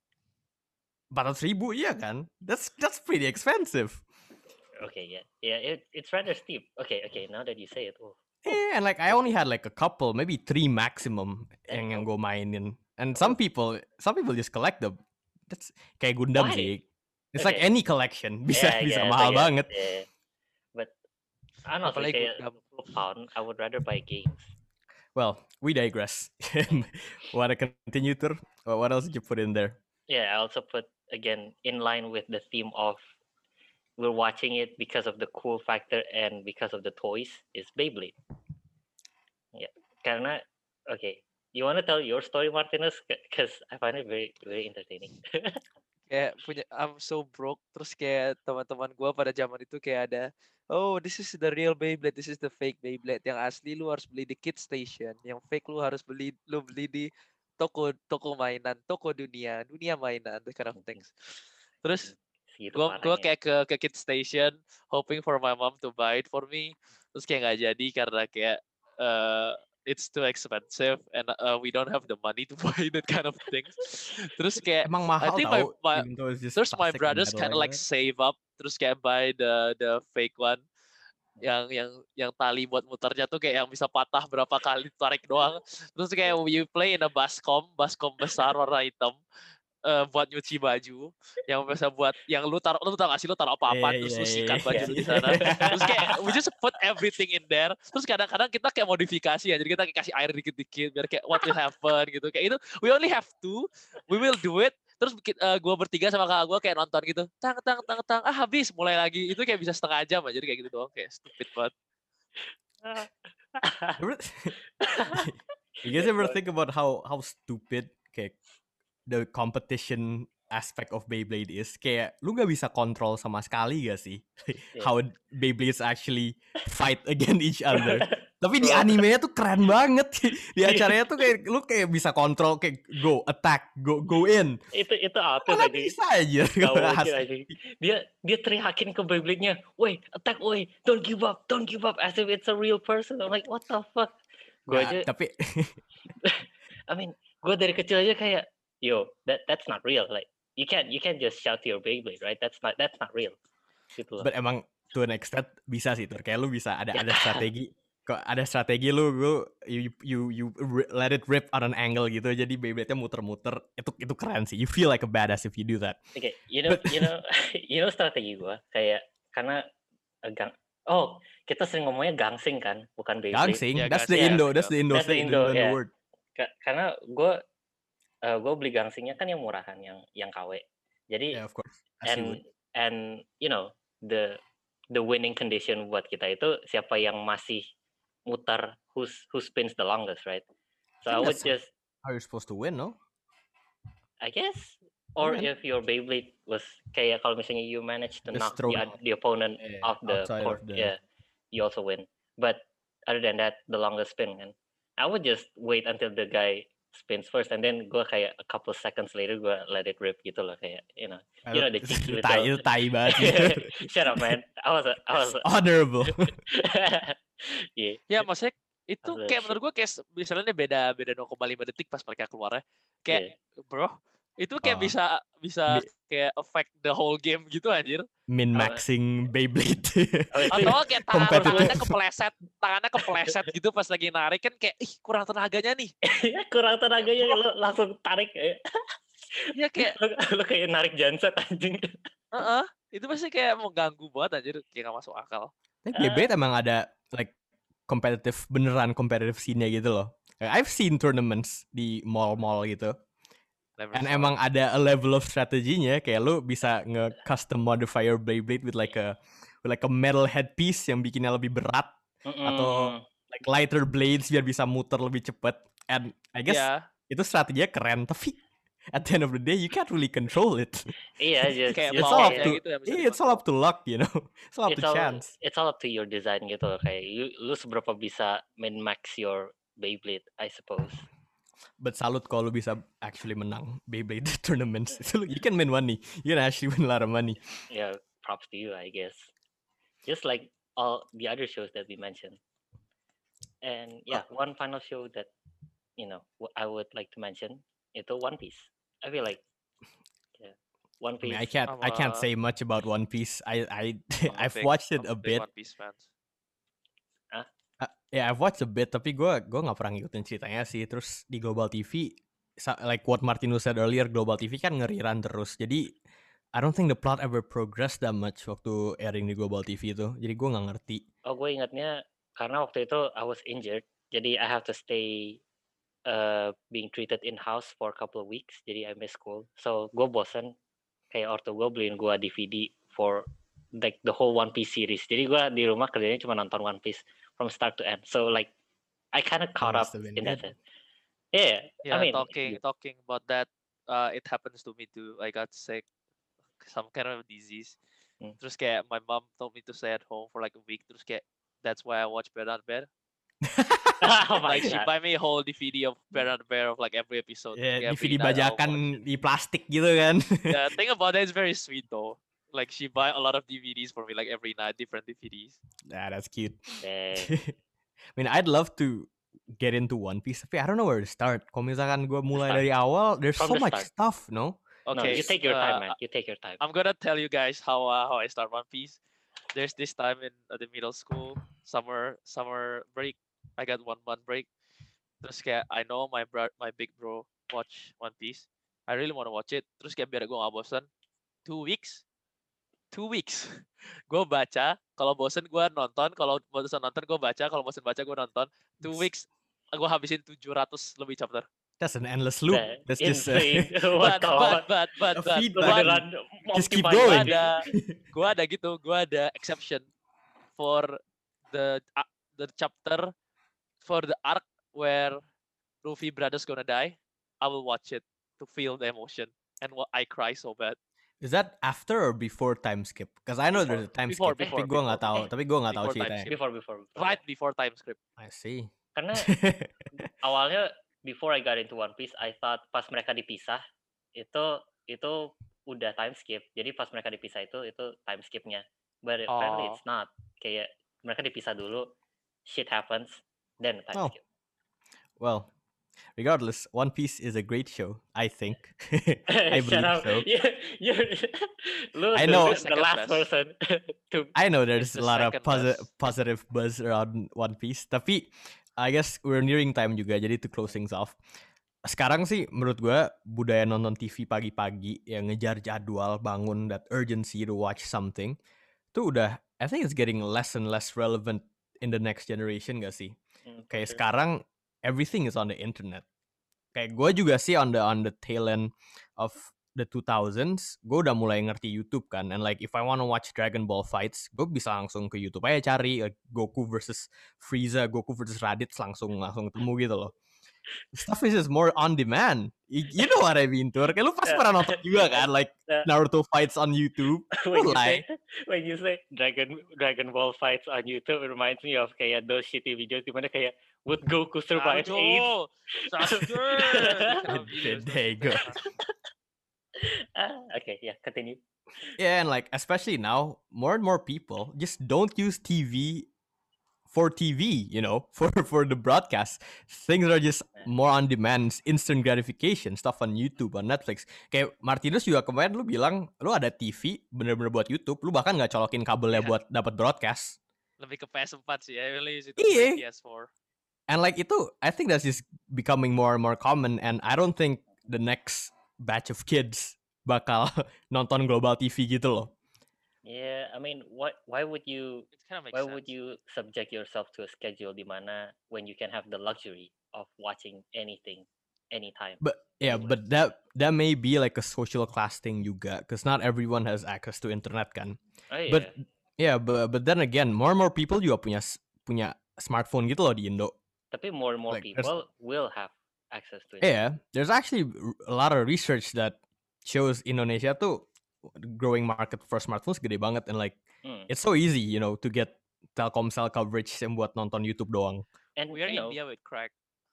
400,000, iya kan? That's pretty expensive.
Okay, yeah. It's rather steep. Okay. Now that you say it,
Yeah, and like I only had like a couple, maybe 3 maximum yang gue mainin. And some people just collect them. That's kayak Gundam sih. It's like any collection bisa mahal banget.
Yeah. But I don't know, kayak £2, I would rather buy games.
Well, we digress. Want to continue, Tur? What else did you put in there?
Yeah, I also put, again, in line with the theme of we're watching it because of the cool factor and because of the toys, is Beyblade. Yeah, karena, okay, you want to tell your story, Martinez? Because I find it very, very entertaining.
Kayak I'm so broke. Terus kayak teman-teman gue pada zaman itu kayak ada, oh, this is the real Beyblade, this is the fake Beyblade. Yang asli lu harus beli di Kid Station, yang fake lu harus beli di toko mainan, toko dunia mainan, that kind of things. Terus gue kayak ke Kid Station, hoping for my mom to buy it for me. Terus kayak nggak jadi karena kayak it's too expensive and we don't have the money to buy that kind of things. Terus kayak
emang mahal,
I think terus my brothers kind of like save up, terus kayak buy the fake one yang tali buat muternya tuh kayak yang bisa patah berapa kali tarik doang. Terus kayak you play in a baskom besar warna hitam. Buat nyuci baju yang bisa buat yang lu taruh nggak sih lu taruh apa terus lu sikat baju di sana. Terus kayak we just put everything in there. Terus kadang-kadang kita kayak modifikasi ya, jadi kita kayak kasih air dikit-dikit biar kayak what will happen gitu. Kayak itu we only have 2, we will do it. Terus gue bertiga sama kakak gue kayak nonton gitu, tang habis mulai lagi. Itu kayak bisa setengah jam aja, jadi kayak gitu doang, kayak stupid banget.
You guys ever think about how stupid kayak the competition aspect of Beyblade is? Kayak lu gak bisa kontrol sama sekali gak sih? How Beyblades actually fight against each other. Tapi di
Bro.
animenya tuh keren banget. Di acaranya tuh kayak lu kayak bisa kontrol kayak go attack, go in.
Itu artis
Mana
aja.
bisa aja.
Gak mungkin aja. Dia teriakin ke Beyblade-nya, "Woi, attack, woi, don't give up, as if it's a real person." I'm like, what the fuck? Gue aja,
Tapi
I mean, gue dari kecil aja kayak, yo, that's not real. Like, you can't just shout to your Beyblade, right? That's not real. Gitu loh.
but emang to an extent bisa sih tuh. Kayak lu bisa ada
Ya.
strategi. Kok ada strategi lu you let it rip on an angle gitu. Jadi Beyblade-nya muter-muter. Itu keren sih. You feel like a badass if you do that.
Okay, you know strategi gue kayak karena kita sering ngomongnya gangsing kan, bukan Beyblade.
Gangsing,
Yeah,
that's
gangsing.
the Indo
That's the
thing,
Indo,
the
yeah.
word.
Karena gue beli gangsingnya kan yang murahan, yang KW. Jadi
Yeah, of course. As you would.
and you know the winning condition buat kita itu siapa yang masih muter who spins the longest, right? So I would just,
how you're supposed to win, no?
I guess, or
Yeah.
if your Beyblade was kayak kalau misalnya you manage to
Just
knock
throw
the opponent off the
outside
court,
of the-
yeah, you also win. But other than that, the longest spin, kan, I would just wait until the guy spins first, and then gue kayak a couple seconds later gue let it rip gitu loh, kayak you know the cheeky
itu tai banget.
Shut up, man. I was
Honorable.
yeah.
Ya maksudnya itu
Maksudnya
kayak
shit.
menurut gue kayak misalnya beda 0,5 detik pas mereka keluar ya. Kayak bro, itu kayak
Oh.
bisa kayak affect the whole game gitu anjir.
Min-maxing Beyblade.
Atau kayak
Competitive.
tangannya kepleset gitu pas lagi narik kan kayak ih kurang tenaganya nih.
Kurang tenaganya lo langsung tarik kayak
Iya kayak
lo kayak narik genset anjing.
itu pasti kayak mau ganggu banget anjir, kayak gak masuk akal.
Tapi Beyblade emang ada like beneran competitive scene-nya gitu loh. Like, I've seen tournaments di mall-mall gitu.
Never
And
saw
emang
it.
ada a level of strateginya, kayak lu bisa nge-custom modify your Beyblade with like a metal headpiece yang bikinnya lebih berat, atau like lighter blades biar bisa muter lebih cepet. And I guess
Iya,
itu strateginya keren, tapi at the end of the day you can't really control it.
Iya, just
kayak
It's
just
all up
powernya
to
gitu ya bisa
it's all up to luck, you know. It's all up to chance.
it's all up to your design gitu loh. Kayak lu seberapa bisa min max your Beyblade, I suppose.
But salut kalau lu bisa actually menang Beyblade tournaments. You can win money. You can actually win a lot of money.
Yeah, props to you, I guess. Just like all the other shows that we mentioned. And yeah, one final show that I would like to mention itu One Piece. I feel like One
I mean,
Piece.
I can't say much about One Piece. I've
I'm
watched it a
big
bit.
One Piece fans.
Yeah, I've watched a bit, tapi gue nggak pernah ngikutin ceritanya sih. Terus di Global TV, like what Martinus said earlier, Global TV kan ngeriran terus. Jadi I don't think the plot ever progressed that much waktu airing di Global TV itu. Jadi gue nggak ngerti.
Oh, gue ingatnya karena waktu itu I was injured, jadi I have to stay being treated in house for a couple of weeks. Jadi I miss school. So gue bosen. Kayak ortu gue beliin gue DVD for like the whole One Piece series. Jadi gue di rumah kerjanya cuma nonton One Piece from start to end. So like I kind of caught up
must have been
in that
good.
sense. Yeah,
Yeah,
I mean,
talking about that, it happens to me too. I got sick, some kind of disease. Terus kayak my mom told me to stay at home for like a week. Terus kayak that's why I watch Bear Bear.
oh my
Like she
god.
buy me a whole DVD of Bear Bear of like every episode.
Ya,
Every
DVD
night I'll
bajakan
watch it.
di plastik gitu kan.
The thing about that is very sweet though. Like she buy a lot of DVDs for me like every night, different DVDs.
Nah, that's cute.
Dang.
I mean, I'd love to get into One Piece, tapi I don't know where to start. Kalau misalkan gue mulai
Start.
dari awal, there's
From
so
the
much
start.
stuff, no?
No,
Okay,
you take your time, man. You take your time.
I'm gonna tell you guys how I start One Piece. There's this time in the middle school, summer break. I got 1 month break. Terus kayak I know my big bro watch One Piece. I really want to watch it. Terus kayak biar gue gak bosen, 2 weeks. Gue baca, kalau bosen gue nonton, kalau bosen nonton gue baca, kalau bosen baca gue nonton. 2 weeks gue habisin 700 lebih chapter.
That's an endless loop. That's just
insane. What the fuck?
But
feedback.
Beneran
Just keep
multi-mind
going.
banget.
gue ada exception for the chapter, for the arc where Luffy brothers gonna die. I will watch it to feel the emotion and I cry so bad.
Is that after or before time skip? Because I know there's a time
Before,
skip, tapi
before,
gue nggak tahu.
before.
Tapi gue nggak tahu
Before time
ceritanya.
skip.
Before.
Right before time script.
I see.
Karena awalnya before I got into One Piece, I thought pas mereka dipisah itu udah time skip. Jadi pas mereka dipisah itu time skipnya. But apparently it's not. Kayak mereka dipisah dulu, shit happens, then time
Oh.
skip.
Well, regardless, One Piece is a great show, I think. I
Shut
believe
up.
so.
Lu
I know.
the last person to
I know there's
It's
a
the
lot of
second best.
positive buzz around One Piece, tapi I guess we're nearing time juga, jadi to close things off. Sekarang sih menurut gue budaya nonton TV pagi-pagi yang ngejar jadwal, bangun, that urgency to watch something, itu udah, I think it's getting less and less relevant in the next generation gak sih? Kayak sekarang everything is on the internet. Kayak gue juga sih on the tail end of the 2000s, gue udah mulai ngerti YouTube kan, and like if I wanna watch Dragon Ball fights, gue bisa langsung ke YouTube aja cari like, Goku versus Frieza, Goku versus Raditz langsung ketemu gitu loh. Stuff is just more on demand. You know what I mean, Tur? Kayak lu pasti pernah nonton juga kan, like Naruto fights on YouTube.
When you say Dragon Ball fights on YouTube, it reminds me of kayak those shitty videos dimana kayak would Goku survive AIDS?
There you go.
Okay, yeah, continue.
Yeah, and like especially now, more and more people just don't use TV for TV, you know, for the broadcast. Things are just more on demand, instant gratification, stuff on YouTube, on Netflix. Kayak Martinus juga kemarin lu bilang lu ada TV bener-bener buat YouTube, lu bahkan nggak colokin kabelnya buat dapat broadcast.
Lebih ke PS4 sih, I really use it
Iya.
PS4.
And like itu, I think that's just becoming more and more common, and I don't think the next batch of kids bakal nonton global TV gitu loh.
Yeah, I mean, why would you
It kind of makes
why
sense.
would you subject yourself to a schedule di mana when you can have the luxury of watching anything anytime?
But yeah, but that may be like a social class thing juga, because not everyone has access to internet kan.
Oh yeah.
But yeah, but then again, more and more people juga punya smartphone gitu loh di Indo.
Tapi more and more
Like,
people will have access to it.
Yeah, there's actually a lot of research that shows Indonesia tuh growing market for smartphones gede banget, and like it's so easy, you know, to get Telkomsel coverage yang buat nonton YouTube doang.
And
We are India with crack.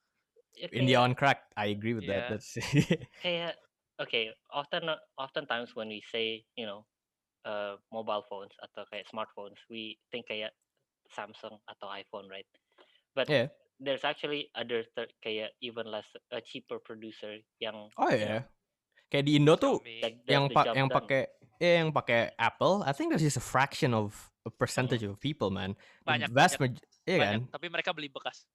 India on crack, I agree with that. That's
kayak okay, oftentimes when we say, you know, mobile phones atau kayak smartphones, we think kayak Samsung atau iPhone, right? But
yeah.
There's actually other kayak even less cheaper producer yang
kayak di Indo tuh yang
yang
pakai Apple, I think that's just a fraction of a percentage of people, man.
Banyak,
kan?
Tapi mereka beli bekas.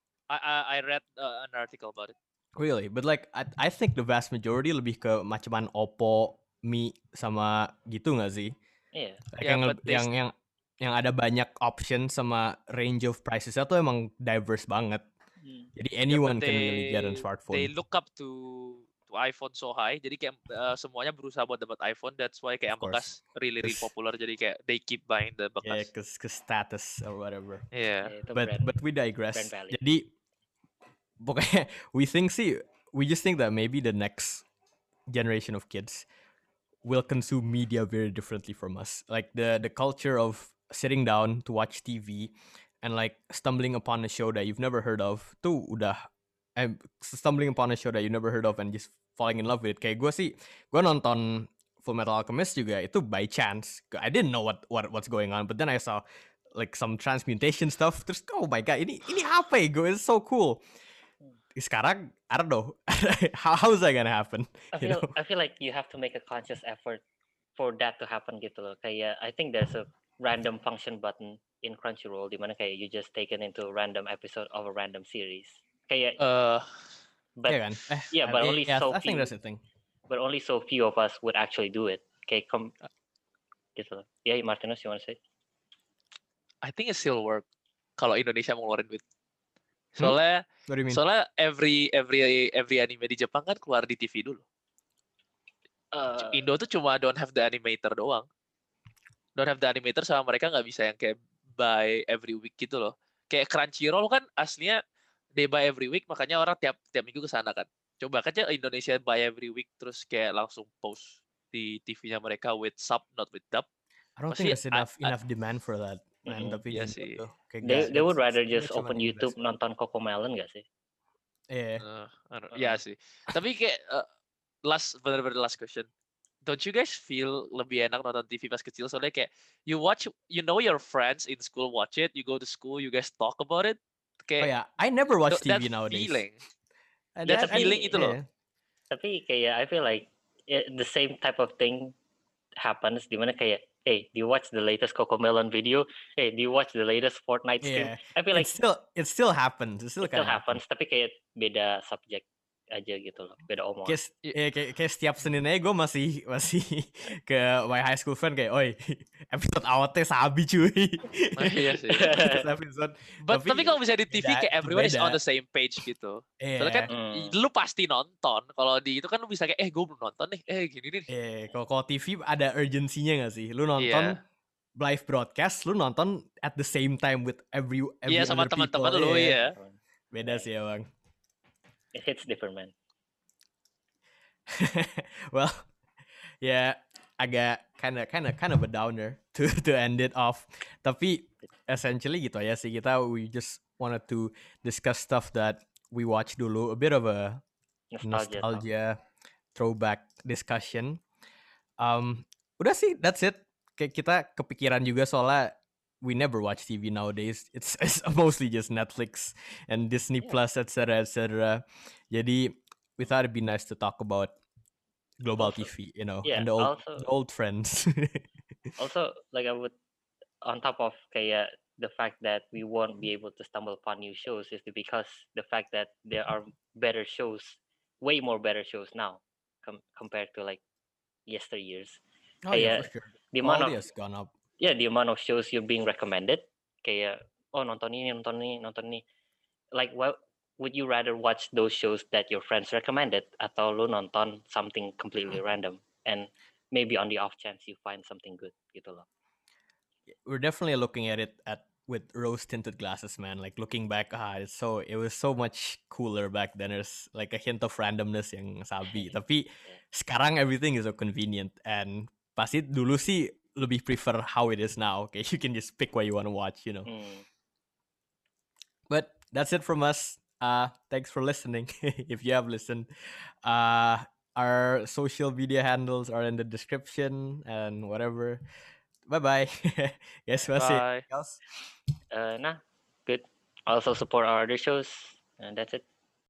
I read an article about it.
Really, but like I think the vast majority lebih ke macaman Oppo, Mi sama gitu nggak sih?
Iya.
Like yang ada banyak option sama range of prices itu emang diverse banget. Jadi anyone can really get a smartphone.
They look up to iPhone so high, jadi kayak semuanya berusaha buat dapat iPhone. That's why kayak bekas really popular. Jadi kayak they keep buying the bekas.
Yeah, cause status or whatever.
Yeah.
But we digress. Jadi pokoknya we just think that maybe the next generation of kids will consume media very differently from us. Like the culture of sitting down to watch TV and like stumbling upon a show that you've never heard of tuh udah stumbling upon a show that you never heard of and just falling in love with it. Kayak gue nonton Full Metal Alchemist juga itu by chance. I didn't know what's going on, but then I saw like some transmutation stuff. Terus oh my god, ini apa ya? It's so cool. Sekarang I don't know how is that gonna happen.
I feel like you have to make a conscious effort for that to happen gitu loh. Kayak I think there's a random function button in Crunchyroll di mana kayak you just taken into a random episode of a random series. Kayak but
yeah, kan?
But only so
I think
few.
that's the thing.
But only so few of us would actually do it. Kayak gitu loh. Yeah, Martinus, you want to say?
I think it still work kalau Indonesia mau ngeluarin duit. Soalnya
What do you mean?
Soalnya every anime di Jepang kan keluar di TV dulu. Indo tuh cuma don't have the animator doang. Don't have the animator sama mereka nggak bisa yang kayak buy every week gitu loh. Kayak Crunchyroll kan aslinya they buy every week, makanya orang tiap minggu ke sana kan. Coba aja Indonesia buy every week terus kayak langsung post di TV-nya mereka with sub, not with dub.
I don't
Pasti
think there's enough demand for that, man.
Mm-mm.
Tapi
Iya
Indo
sih.
tuh kayak
They would
it's
rather
dia
just
cuma
open
Inggris.
YouTube nonton Cocomelon gak sih?
Iya.
Iya sih. Tapi kayak bener-bener last question. Don't you guys feel lebih enak nonton TV pas kecil? Soalnya kayak you know your friends in school watch it, you go to school, you guys talk about it.
Oh
Kayak
yeah, I never watch
that
TV nowadays.
feeling.
And
That
tapi-
feeling itu loh.
yeah.
Tapi kayak I feel like the same type of thing happens dimana kayak, hey, do you watch the latest Cocomelon video? Hey, do you watch the latest Fortnite stream?
Yeah.
I feel like
It still happens. It still
it
kind
still
of
happens, tapi kayak beda subjek aja gitu loh, beda omongan.
Kayak setiap Senin aja gue masih ke my high school friend kayak, oi, episode awalnya sabi cuy.
Iya sih.
episode.
Tapi kalau bisa di TV kayak everyone is
beda.
on the same page gitu. Soalnya kan
Hmm.
lu pasti nonton. Kalau di itu kan lu bisa kayak gue belum nonton nih. Gini nih.
Kalau TV ada urgensinya gak sih? Lu nonton live broadcast, lu nonton at the same time with every
Iya sama
other
teman-teman
people.
lu ya.
Beda sih ya bang.
It hits different, man.
Well, yeah, agak kind of a downer to end it off. Tapi essentially gitu ya sih, we just wanted to discuss stuff that we watched dulu, a bit of a nostalgia throwback discussion. Udah sih, that's it. Kayak kita kepikiran juga soalnya we never watch TV nowadays. It's mostly just Netflix and Disney Plus, etc. Jadi we thought it'd be nice to talk about global TV, you know, and the old friends.
Also, like I would, on top of kayak the fact that we won't be able to stumble upon new shows is because the fact that there are better shows, way more better shows now compared to like yesteryears.
Oh yeah, for sure.
The amount
Quality has gone up.
Yeah, the amount of shows you're being recommended, kayak nonton ini. Like, what would you rather watch those shows that your friends recommended, atau lu nonton something completely random and maybe on the off chance you find something good gitu loh.
We're definitely looking at it with rose tinted glasses, man. Like looking back, it was so much cooler back then. There's like a hint of randomness yang sabi. Tapi sekarang everything is so convenient, and pasti dulu sih lebih prefer how it is now. Okay, you can just pick what you want to watch, you know. But that's it from us. Thanks for listening. If you have listened, our social media handles are in the description and whatever. Bye. Yes,
Bye.
else?
Good. Also support our other shows, and that's it.